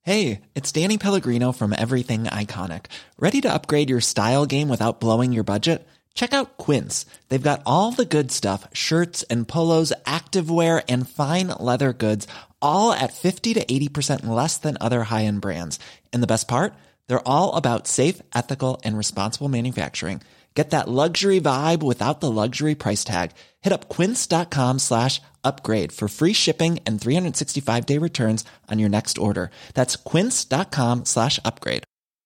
Hey, it's Danny Pellegrino from Everything Iconic. Ready to upgrade your style game without blowing your budget? Check out Quince. They've got all the good stuff, shirts and polos, activewear, and fine leather goods, all at 50 to 80% less than other high-end brands. And the best part? They're all about safe, ethical, and responsible manufacturing. Get that luxury vibe without the luxury price tag. Hit up quince.com/upgrade for free shipping and 365-day returns on your next order. That's quince.com/upgrade.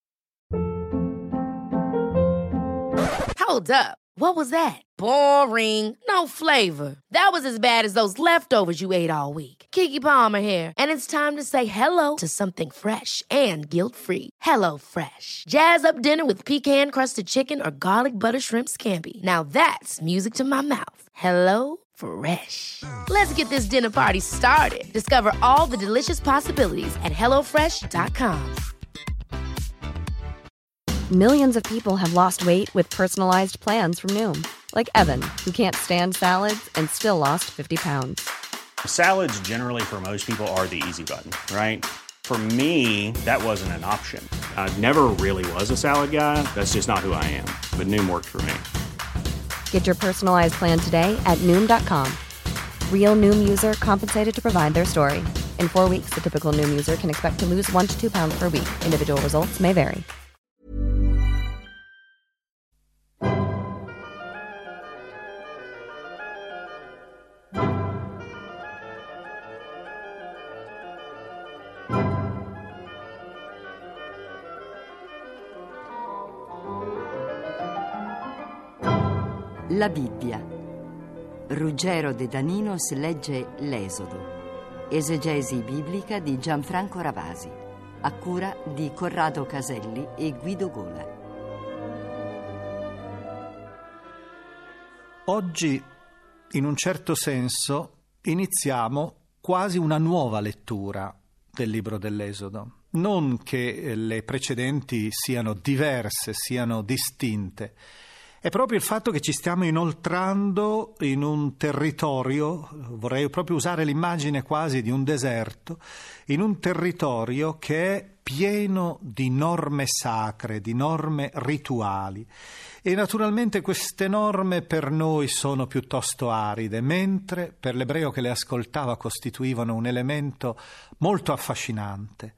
Hold up. What was that? Boring. No flavor. That was as bad as those leftovers you ate all week. Keke Palmer here, and it's time to say hello to something fresh and guilt-free. Hello Fresh. Jazz up dinner with pecan-crusted chicken or garlic butter shrimp scampi. Now that's music to my mouth. Hello Fresh. Let's get this dinner party started. Discover all the delicious possibilities at hellofresh.com. Millions of people have lost weight with personalized plans from Noom. Like Evan, who can't stand salads and still lost 50 pounds. Salads generally for most people are the easy button, right? For me, that wasn't an option. I never really was a salad guy. That's just not who I am. But Noom worked for me. Get your personalized plan today at Noom.com. Real Noom user compensated to provide their story. In 4 weeks, the typical Noom user can expect to lose 1 to 2 pounds per week. Individual results may vary. La Bibbia. Ruggero De Daninos legge L'Esodo. Esegesi biblica di Gianfranco Ravasi. A cura di Corrado Caselli e Guido Gola. Oggi, in un certo senso, iniziamo quasi una nuova lettura del libro dell'Esodo. Non che le precedenti siano diverse, siano distinte. È proprio il fatto che ci stiamo inoltrando in un territorio, vorrei proprio usare l'immagine quasi di un deserto, in un territorio che è pieno di norme sacre, di norme rituali. E naturalmente queste norme per noi sono piuttosto aride, mentre per l'ebreo che le ascoltava costituivano un elemento molto affascinante.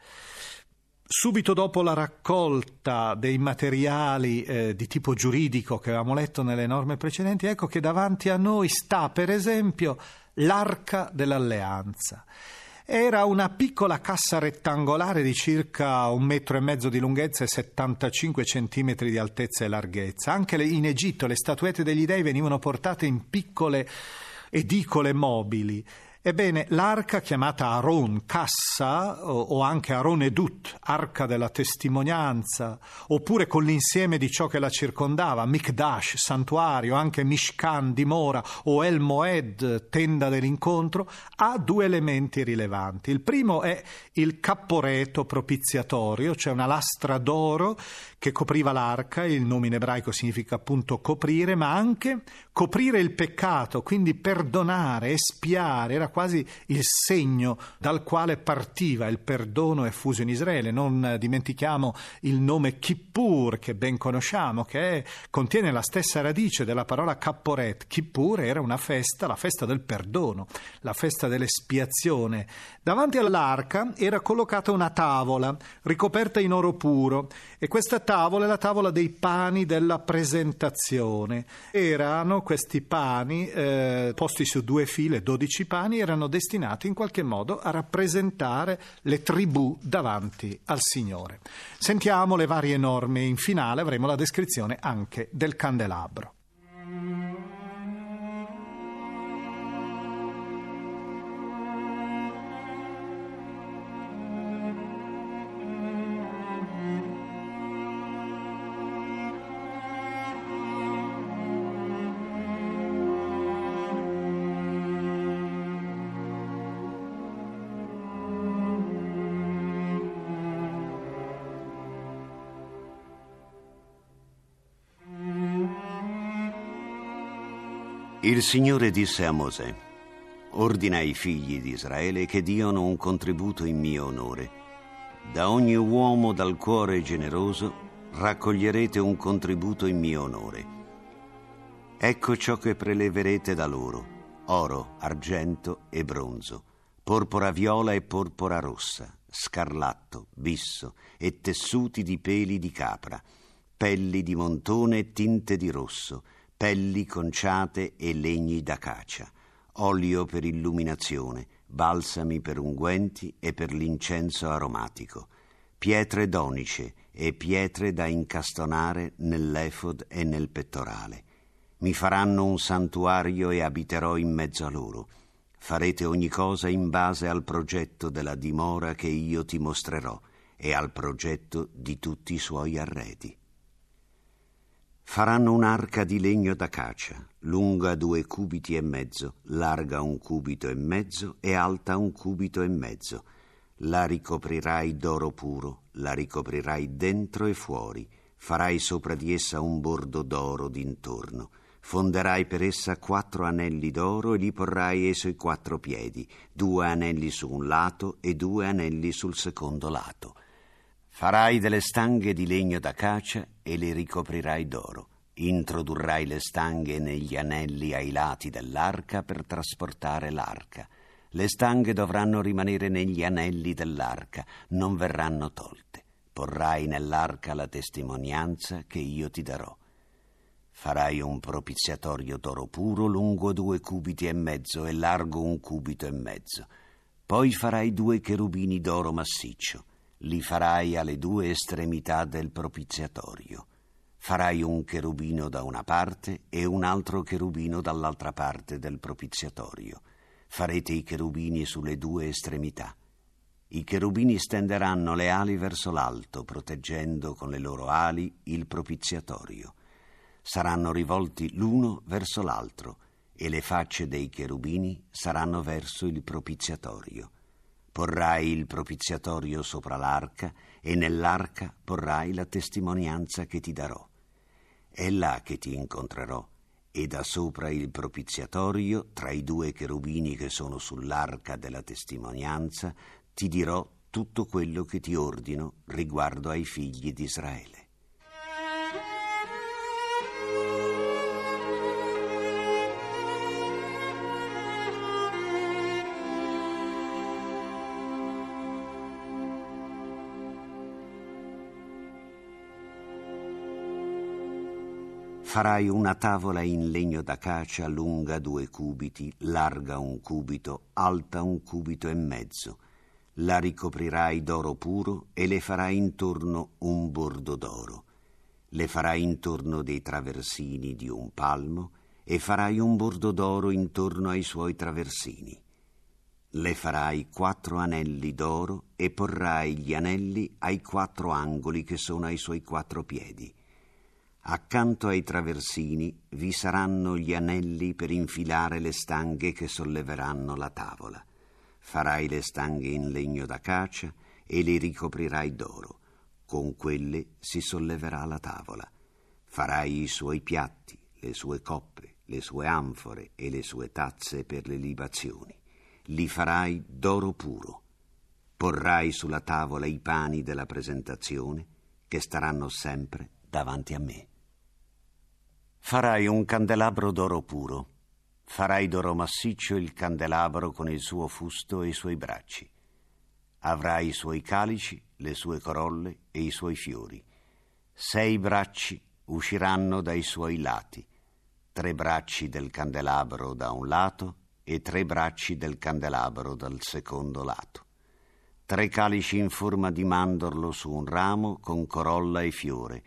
Subito dopo la raccolta dei materiali di tipo giuridico che avevamo letto nelle norme precedenti, ecco che davanti a noi sta, per esempio, l'Arca dell'Alleanza. Era una piccola cassa rettangolare di circa 1,5 metri di lunghezza e 75 centimetri di altezza e larghezza. Anche in Egitto le statuette degli dei venivano portate in piccole edicole mobili. Ebbene, l'arca chiamata Aron, cassa, o anche Aron Edut, arca della testimonianza, oppure con l'insieme di ciò che la circondava, Mikdash, santuario, anche Mishkan, dimora, o El Moed, tenda dell'incontro, ha 2 elementi rilevanti. Il primo è il capporeto propiziatorio, cioè una lastra d'oro che copriva l'arca, il nome in ebraico significa appunto coprire, ma anche coprire il peccato, quindi perdonare, espiare, era quasi il segno dal quale partiva il perdono effuso in Israele. Non dimentichiamo il nome Kippur, che ben conosciamo, che contiene la stessa radice della parola Kapporet. Kippur era una festa, la festa del perdono, la festa dell'espiazione. Davanti all'arca era collocata una tavola ricoperta in oro puro, e questa tavola è la tavola dei pani della presentazione. Erano questi pani posti su 2 file, 12 pani, erano destinati in qualche modo a rappresentare le tribù davanti al Signore. Sentiamo le varie norme, in finale avremo la descrizione anche del candelabro. Il Signore disse a Mosè: ordina ai figli di Israele che diano un contributo in mio onore. Da ogni uomo dal cuore generoso raccoglierete un contributo in mio onore. Ecco ciò che preleverete da loro: oro, argento e bronzo, porpora viola e porpora rossa, scarlatto, bisso e tessuti di peli di capra, pelli di montone e tinte di rosso, pelli conciate e legni d'acacia, olio per illuminazione, balsami per unguenti e per l'incenso aromatico, pietre d'onice e pietre da incastonare nell'efod e nel pettorale. Mi faranno un santuario e abiterò in mezzo a loro. Farete ogni cosa in base al progetto della dimora che io ti mostrerò e al progetto di tutti i suoi arredi. Faranno un'arca di legno d'acacia, lunga 2 cubiti e mezzo, larga 1 cubito e mezzo e alta 1 cubito e mezzo. La ricoprirai d'oro puro, la ricoprirai dentro e fuori, farai sopra di essa un bordo d'oro d'intorno. Fonderai per essa 4 anelli d'oro e li porrai ai suoi 4 piedi, 2 anelli su un lato e 2 anelli sul secondo lato. Farai delle stanghe di legno d'acacia e le ricoprirai d'oro. Introdurrai le stanghe negli anelli ai lati dell'arca per trasportare l'arca. Le stanghe dovranno rimanere negli anelli dell'arca, non verranno tolte. Porrai nell'arca la testimonianza che io ti darò. Farai un propiziatorio d'oro puro lungo 2 cubiti e mezzo e largo 1 cubito e mezzo. Poi farai 2 cherubini d'oro massiccio. Li farai alle 2 estremità del propiziatorio. Farai un cherubino da una parte e un altro cherubino dall'altra parte del propiziatorio. Farete i cherubini sulle 2 estremità. I cherubini stenderanno le ali verso l'alto, proteggendo con le loro ali il propiziatorio. Saranno rivolti l'uno verso l'altro e le facce dei cherubini saranno verso il propiziatorio. Porrai il propiziatorio sopra l'arca e nell'arca porrai la testimonianza che ti darò. È là che ti incontrerò e da sopra il propiziatorio, tra i 2 cherubini che sono sull'arca della testimonianza, ti dirò tutto quello che ti ordino riguardo ai figli di Israele. Farai una tavola in legno d'acacia lunga 2 cubiti, larga 1 cubito, alta 1 cubito e mezzo. La ricoprirai d'oro puro e le farai intorno un bordo d'oro. Le farai intorno dei traversini di 1 palmo e farai un bordo d'oro intorno ai suoi traversini. Le farai 4 anelli d'oro e porrai gli anelli ai 4 angoli che sono ai suoi 4 piedi. Accanto ai traversini vi saranno gli anelli per infilare le stanghe che solleveranno la tavola. Farai le stanghe in legno d'acacia e le ricoprirai d'oro. Con quelle si solleverà la tavola. Farai i suoi piatti, le sue coppe, le sue anfore e le sue tazze per le libazioni. Li farai d'oro puro. Porrai sulla tavola i pani della presentazione che staranno sempre davanti a me. Farai un candelabro d'oro puro. Farai d'oro massiccio il candelabro con il suo fusto e i suoi bracci. Avrai i suoi calici, le sue corolle e i suoi fiori. 6 bracci usciranno dai suoi lati, 3 bracci del candelabro da un lato e 3 bracci del candelabro dal secondo lato. 3 calici in forma di mandorlo su un ramo con corolla e fiore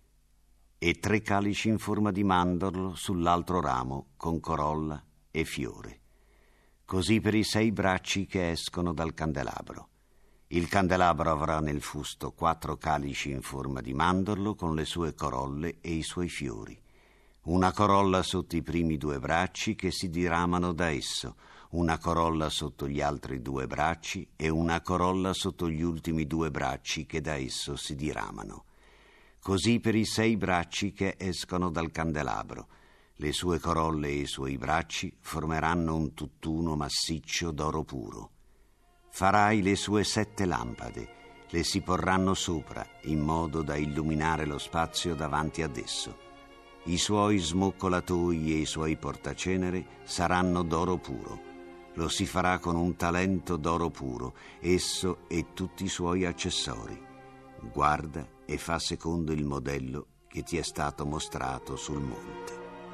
e 3 calici in forma di mandorlo sull'altro ramo con corolla e fiore. Così per i 6 bracci che escono dal candelabro. Il candelabro avrà nel fusto 4 calici in forma di mandorlo con le sue corolle e i suoi fiori. Una corolla sotto i primi 2 bracci che si diramano da esso, una corolla sotto gli altri 2 bracci e una corolla sotto gli ultimi 2 bracci che da esso si diramano. Così per i 6 bracci che escono dal candelabro. Le sue corolle e i suoi bracci formeranno un tutt'uno massiccio d'oro puro. Farai le sue 7 lampade. le si porranno sopra in modo da illuminare lo spazio davanti ad esso. I suoi smoccolatoi e i suoi portacenere saranno d'oro puro. Lo si farà con un talento d'oro puro, esso e tutti i suoi accessori. Guarda e fa secondo il modello che ti è stato mostrato sul monte.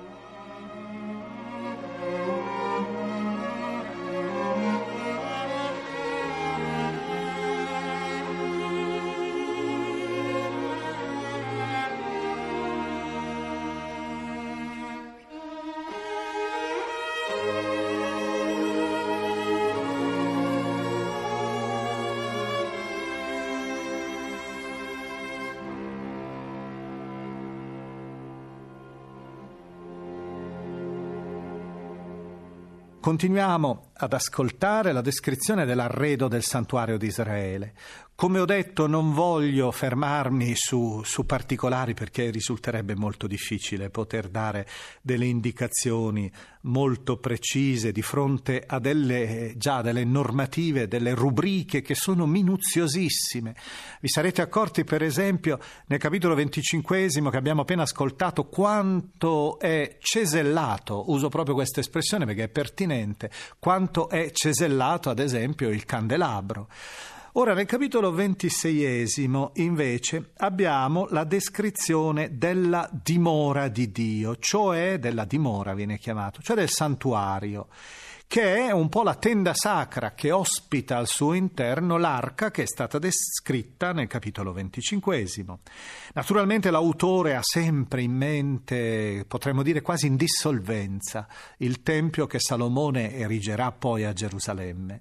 Continuiamo ad ascoltare la descrizione dell'arredo del santuario di Israele. Come ho detto, non voglio fermarmi su particolari perché risulterebbe molto difficile poter dare delle indicazioni molto precise di fronte a delle normative, delle rubriche che sono minuziosissime. Vi sarete accorti, per esempio, nel capitolo 25 che abbiamo appena ascoltato, quanto è cesellato, uso proprio questa espressione perché è pertinente, quanto è cesellato, ad esempio, il candelabro. Ora, nel capitolo 26 invece abbiamo la descrizione della dimora di Dio, cioè della dimora viene chiamato, cioè del santuario, che è un po' la tenda sacra che ospita al suo interno l'arca che è stata descritta nel capitolo 25. Naturalmente l'autore ha sempre in mente, potremmo dire quasi in dissolvenza, il tempio che Salomone erigerà poi a Gerusalemme.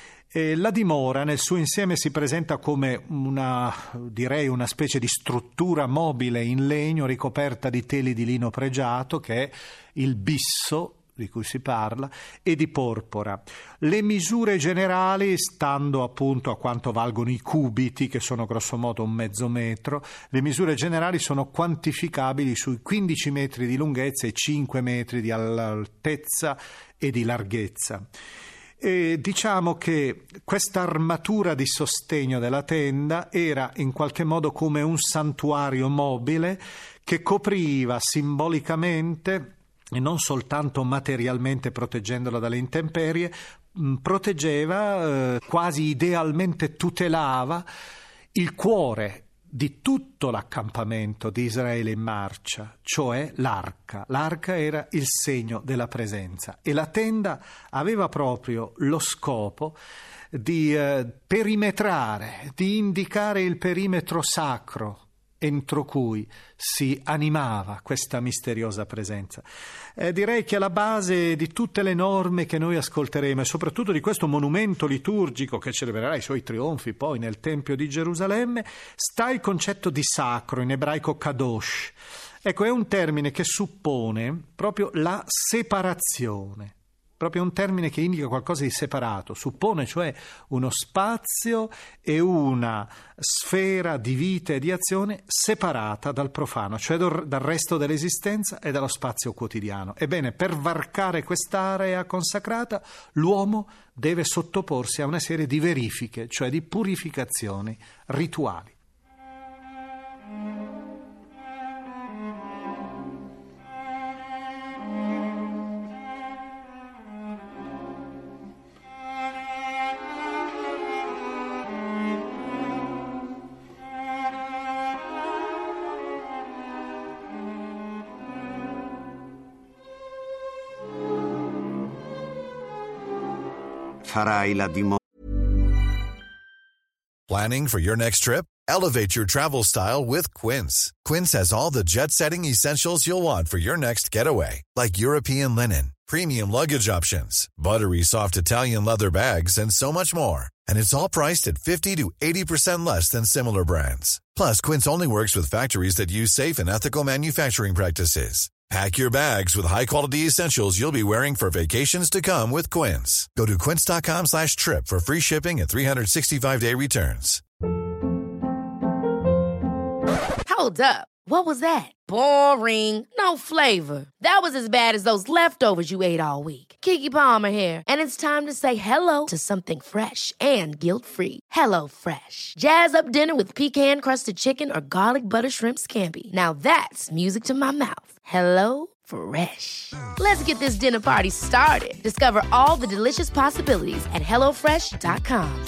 E la dimora nel suo insieme si presenta come una specie di struttura mobile in legno ricoperta di teli di lino pregiato, che è il bisso di cui si parla, e di porpora. Le misure generali, stando appunto a quanto valgono i cubiti, che sono grossomodo 1/2 metro, le misure generali sono quantificabili sui 15 metri di lunghezza e 5 metri di altezza e di larghezza. E diciamo che questa armatura di sostegno della tenda era in qualche modo come un santuario mobile che copriva simbolicamente e non soltanto materialmente proteggendola dalle intemperie, proteggeva, quasi idealmente tutelava il cuore di tutto l'accampamento di Israele in marcia, cioè l'arca. L'arca era il segno della presenza e la tenda aveva proprio lo scopo di perimetrare, di indicare il perimetro sacro entro cui si animava questa misteriosa presenza. Direi che alla base di tutte le norme che noi ascolteremo e soprattutto di questo monumento liturgico che celebrerà i suoi trionfi poi nel Tempio di Gerusalemme sta il concetto di sacro, in ebraico kadosh. Ecco, è un termine che suppone proprio la separazione. Proprio un termine che indica qualcosa di separato, suppone cioè uno spazio e una sfera di vita e di azione separata dal profano, cioè dal resto dell'esistenza e dallo spazio quotidiano. Ebbene, per varcare quest'area consacrata, l'uomo deve sottoporsi a una serie di verifiche, cioè di purificazioni rituali. Farai la dimora. Planning for your next trip? Elevate your travel style with Quince. Quince has all the jet-setting essentials you'll want for your next getaway, like European linen, premium luggage options, buttery soft Italian leather bags, and so much more. And it's all priced at 50 to 80% less than similar brands. Plus, Quince only works with factories that use safe and ethical manufacturing practices. Pack your bags with high-quality essentials you'll be wearing for vacations to come with Quince. Go to quince.com/trip for free shipping and 365-day returns. Hold up. What was that? Boring. No flavor. That was as bad as those leftovers you ate all week. Keke Palmer here, and it's time to say hello to something fresh and guilt-free. Hello Fresh. Jazz up dinner with pecan-crusted chicken or garlic butter shrimp scampi. Now that's music to my mouth. Hello Fresh. Let's get this dinner party started. Discover all the delicious possibilities at hellofresh.com.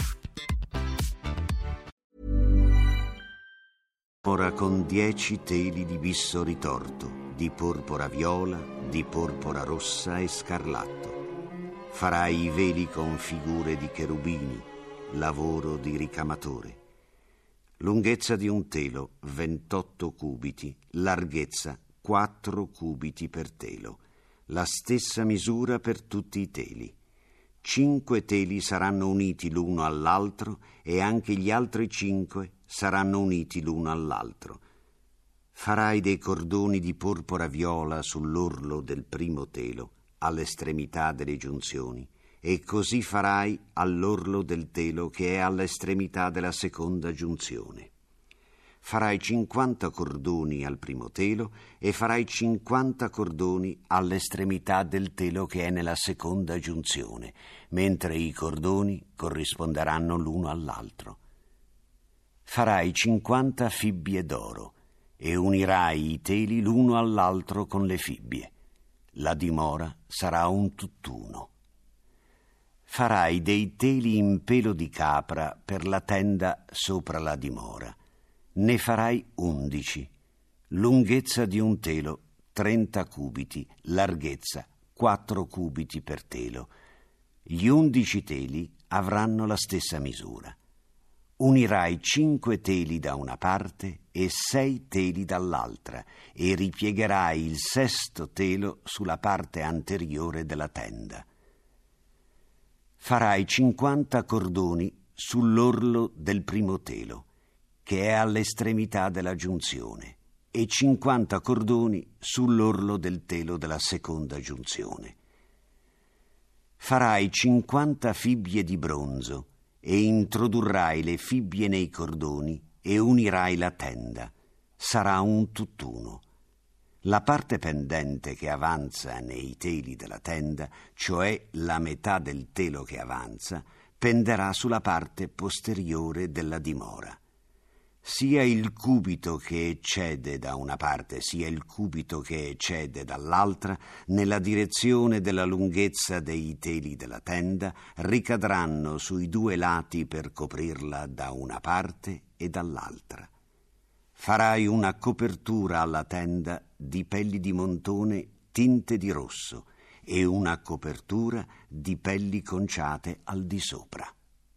Ora con 10 teli di bisso ritorto, di porpora viola, di porpora rossa e scarlatto. Farai i veli con figure di cherubini, lavoro di ricamatore. Lunghezza di un telo 28 cubiti, larghezza 4 cubiti per telo, la stessa misura per tutti i teli. 5 teli saranno uniti l'uno all'altro e anche gli altri 5 saranno uniti l'uno all'altro. Farai dei cordoni di porpora viola sull'orlo del primo telo, all'estremità delle giunzioni, e così farai all'orlo del telo che è all'estremità della seconda giunzione. Farai 50 cordoni al primo telo e farai 50 cordoni all'estremità del telo che è nella seconda giunzione, mentre i cordoni corrisponderanno l'uno all'altro. Farai 50 fibbie d'oro e unirai i teli l'uno all'altro con le fibbie. La dimora sarà un tutt'uno. Farai dei teli in pelo di capra per la tenda sopra la dimora. Ne farai 11. Lunghezza di un telo 30 cubiti, larghezza 4 cubiti per telo. Gli 11 teli avranno la stessa misura. Unirai 5 teli da una parte e 6 teli dall'altra e ripiegherai il sesto telo sulla parte anteriore della tenda. Farai 50 cordoni sull'orlo del primo telo, che è all'estremità della giunzione, e 50 cordoni sull'orlo del telo della seconda giunzione. Farai 50 fibbie di bronzo e introdurrai le fibbie nei cordoni e unirai la tenda. Sarà un tutt'uno. La parte pendente che avanza nei teli della tenda, cioè la metà del telo che avanza, penderà sulla parte posteriore della dimora. Sia il cubito che eccede da una parte, sia il cubito che eccede dall'altra, nella direzione della lunghezza dei teli della tenda, ricadranno sui 2 lati per coprirla da una parte e dall'altra. Farai una copertura alla tenda di pelli di montone tinte di rosso e una copertura di pelli conciate al di sopra.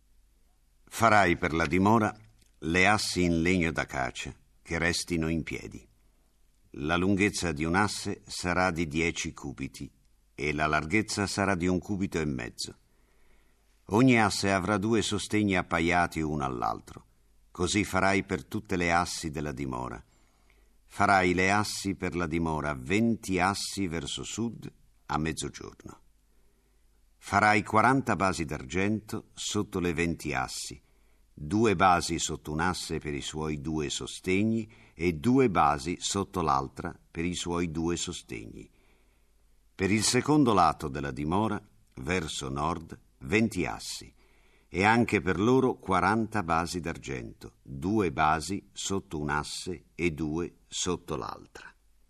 Farai per la dimora le assi in legno d'acacia che restino in piedi. La lunghezza di un asse sarà di 10 cubiti e la larghezza sarà di 1,5 cubiti. Ogni asse avrà 2 sostegni appaiati uno all'altro. Così farai per tutte le assi della dimora. Farai le assi per la dimora 20 assi verso sud a mezzogiorno. Farai 40 basi d'argento sotto le 20 assi, 2 basi sotto un asse per i suoi 2 sostegni e 2 basi sotto l'altra per i suoi 2 sostegni. Per il secondo lato della dimora, verso nord, 20 assi, e anche per loro 40 basi d'argento, 2 basi sotto un asse e 2 sotto l'altra.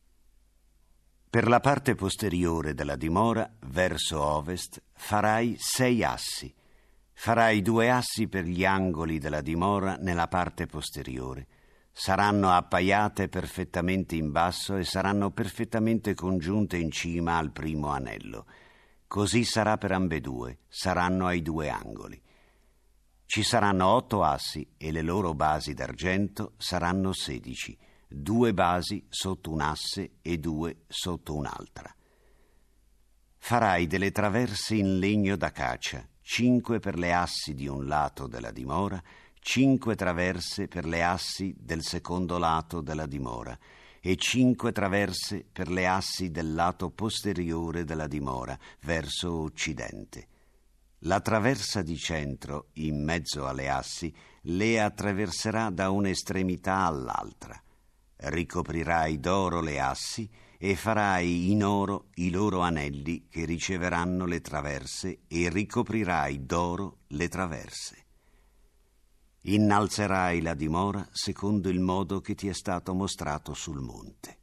Per la parte posteriore della dimora, verso ovest, farai 6 assi. Farai 2 assi per gli angoli della dimora nella parte posteriore. Saranno appaiate perfettamente in basso e saranno perfettamente congiunte in cima al primo anello. Così sarà per ambedue, saranno ai 2 angoli. Ci saranno 8 assi e le loro basi d'argento saranno 16, 2 basi sotto un asse e 2 sotto un'altra. Farai delle traverse in legno d'acacia, 5 per le assi di un lato della dimora, 5 traverse per le assi del secondo lato della dimora e 5 traverse per le assi del lato posteriore della dimora, verso occidente. La traversa di centro, in mezzo alle assi, le attraverserà da un'estremità all'altra. ricoprirai d'oro le assi e farai in oro i loro anelli che riceveranno le traverse e ricoprirai d'oro le traverse. Innalzerai la dimora secondo il modo che ti è stato mostrato sul monte.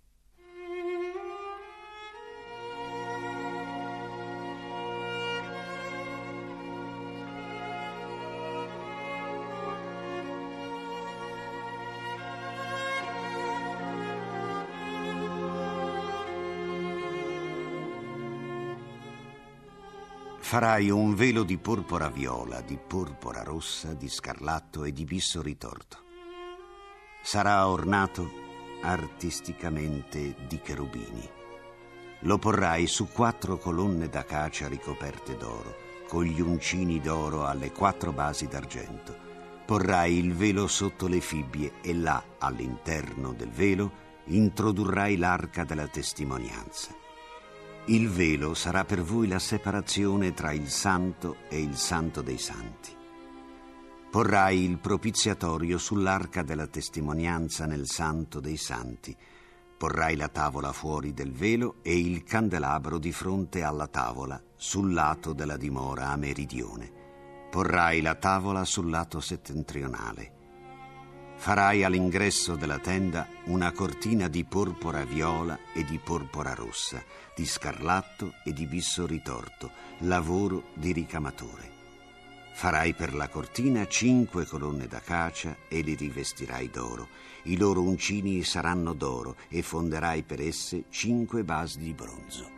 Farai un velo di porpora viola, di porpora rossa, di scarlatto e di bisso ritorto. Sarà ornato artisticamente di cherubini. Lo porrai su 4 colonne d'acacia ricoperte d'oro, con gli uncini d'oro alle 4 basi d'argento. Porrai il velo sotto le fibbie e là, all'interno del velo, introdurrai l'arca della testimonianza. Il velo sarà per voi la separazione tra il santo e il santo dei santi. Porrai il propiziatorio sull'arca della testimonianza nel santo dei santi. Porrai la tavola fuori del velo e il candelabro di fronte alla tavola sul lato della dimora a meridione. Porrai la tavola sul lato settentrionale. Farai all'ingresso della tenda una cortina di porpora viola e di porpora rossa, di scarlatto e di bisso ritorto, lavoro di ricamatore. Farai per la cortina 5 colonne d'acacia e li rivestirai d'oro. I loro uncini saranno d'oro e fonderai per esse 5 basi di bronzo.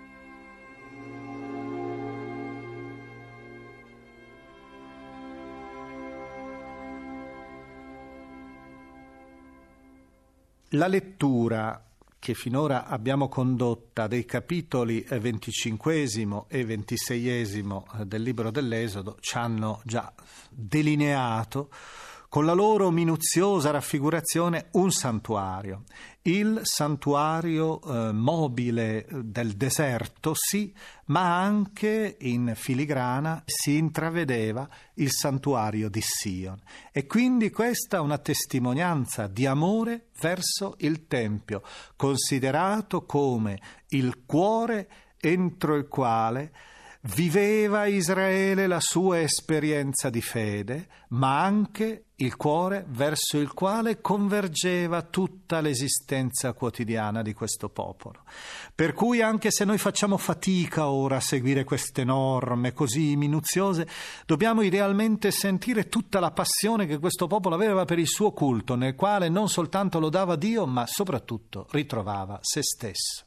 La lettura che finora abbiamo condotta dei capitoli 25 e 26 del libro dell'Esodo ci hanno già delineato con la loro minuziosa raffigurazione un santuario. Il santuario mobile del deserto, sì, ma anche in filigrana si intravedeva il santuario di Sion. E quindi questa è una testimonianza di amore verso il Tempio, considerato come il cuore entro il quale viveva Israele la sua esperienza di fede, ma anche il cuore verso il quale convergeva tutta l'esistenza quotidiana di questo popolo. Per cui anche se noi facciamo fatica ora a seguire queste norme così minuziose, dobbiamo idealmente sentire tutta la passione che questo popolo aveva per il suo culto, nel quale non soltanto lodava Dio, ma soprattutto ritrovava se stesso.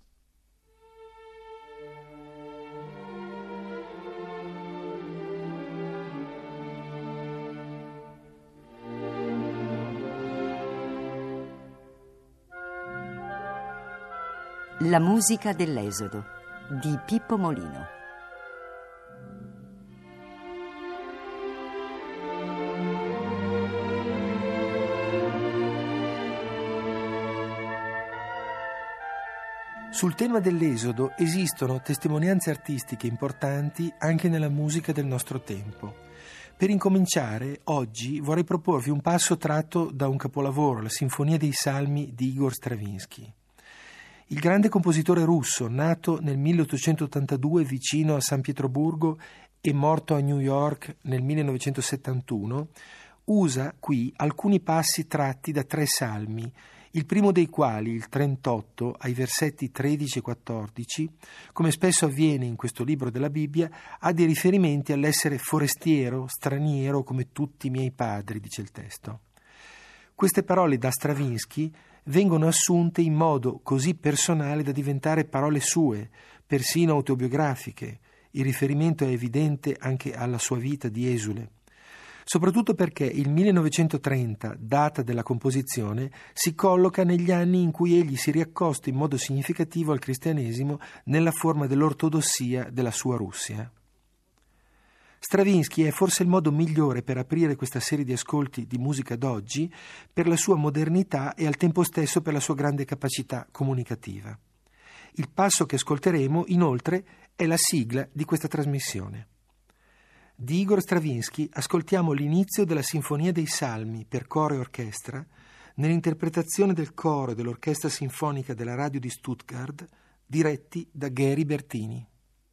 La musica dell'Esodo di Pippo Molino. Sul tema dell'Esodo esistono testimonianze artistiche importanti anche nella musica del nostro tempo. Per incominciare, oggi vorrei proporvi un passo tratto da un capolavoro, la Sinfonia dei Salmi di Igor Stravinsky. Il grande compositore russo, nato nel 1882 vicino a San Pietroburgo e morto a New York nel 1971, usa qui alcuni passi tratti da 3 salmi, il primo dei quali, il 38, ai versetti 13 e 14, come spesso avviene in questo libro della Bibbia, ha dei riferimenti all'essere forestiero, straniero come tutti i miei padri, dice il testo. Queste parole da Stravinsky vengono assunte in modo così personale da diventare parole sue, persino autobiografiche. Il riferimento è evidente anche alla sua vita di esule. Soprattutto perché il 1930, data della composizione, si colloca negli anni in cui egli si riaccosta in modo significativo al cristianesimo nella forma dell'ortodossia della sua Russia. Stravinsky è forse il modo migliore per aprire questa serie di ascolti di musica d'oggi per la sua modernità e al tempo stesso per la sua grande capacità comunicativa. Il passo che ascolteremo, inoltre, è la sigla di questa trasmissione. Di Igor Stravinsky ascoltiamo l'inizio della Sinfonia dei Salmi per coro e orchestra nell'interpretazione del coro e dell'orchestra sinfonica della radio di Stuttgart, diretti da Gary Bertini.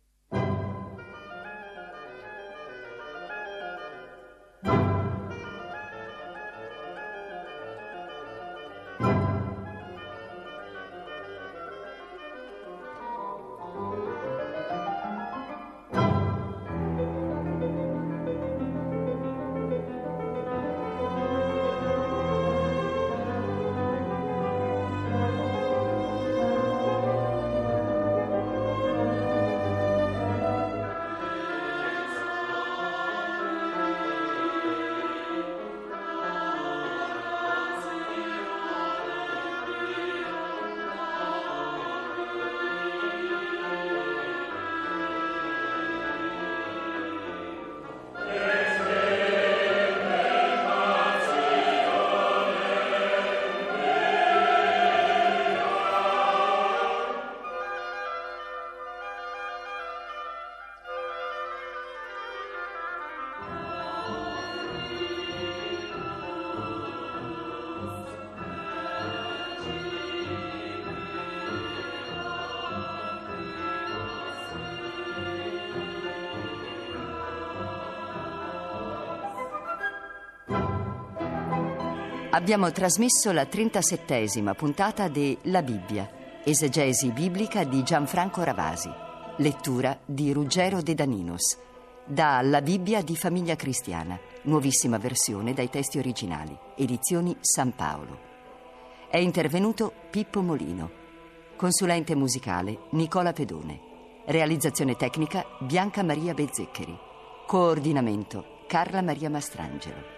Abbiamo trasmesso la 37ª puntata di La Bibbia, esegesi biblica di Gianfranco Ravasi, lettura di Ruggero De Daninos, da La Bibbia di Famiglia Cristiana, nuovissima versione dai testi originali, edizioni San Paolo. È intervenuto Pippo Molino, consulente musicale Nicola Pedone, realizzazione tecnica Bianca Maria Bezzeccheri, coordinamento Carla Maria Mastrangelo.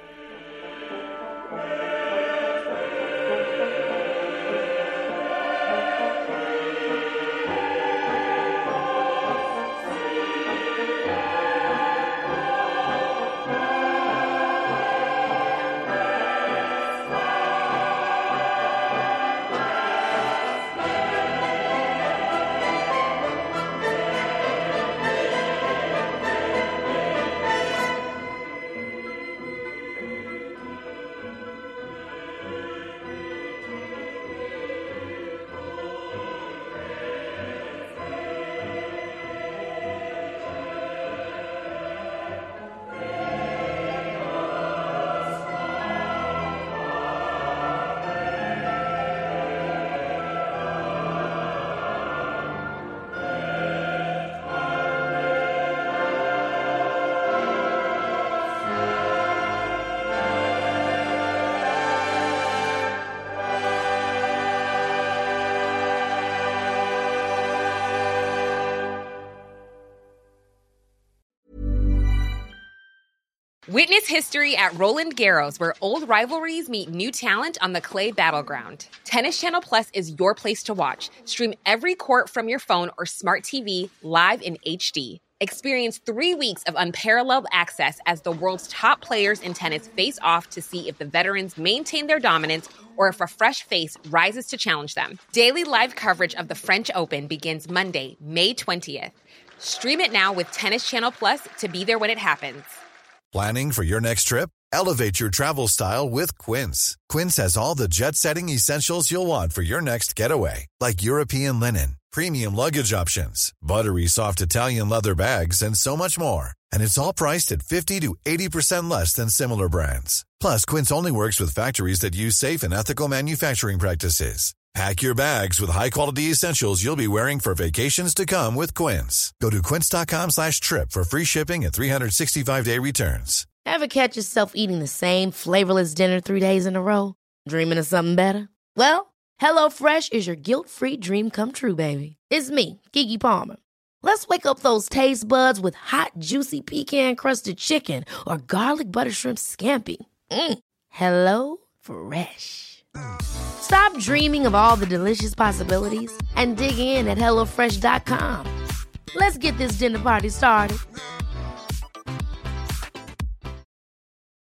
Witness history at Roland Garros, where old rivalries meet new talent on the clay battleground. Tennis Channel Plus is your place to watch. Stream every court from your phone or smart TV live in HD. Experience 3 weeks of unparalleled access as the world's top players in tennis face off to see if the veterans maintain their dominance or if a fresh face rises to challenge them. Daily live coverage of the French Open begins Monday, May 20th. Stream it now with Tennis Channel Plus to be there when it happens. Planning for your next trip? Elevate your travel style with Quince. Quince has all the jet-setting essentials you'll want for your next getaway, like European linen, premium luggage options, buttery soft Italian leather bags, and so much more. And it's all priced at 50 to 80% less than similar brands. Plus, Quince only works with factories that use safe and ethical manufacturing practices. Pack your bags with high-quality essentials you'll be wearing for vacations to come with Quince. Go to quince.com/trip for free shipping and 365-day returns. Ever catch yourself eating the same flavorless dinner 3 days in a row? Dreaming of something better? Well, HelloFresh is your guilt-free dream come true, baby. It's me, Keke Palmer. Let's wake up those taste buds with hot, juicy pecan-crusted chicken or garlic butter shrimp scampi. HelloFresh. Stop dreaming of all the delicious possibilities and dig in at HelloFresh.com. Let's get this dinner party started.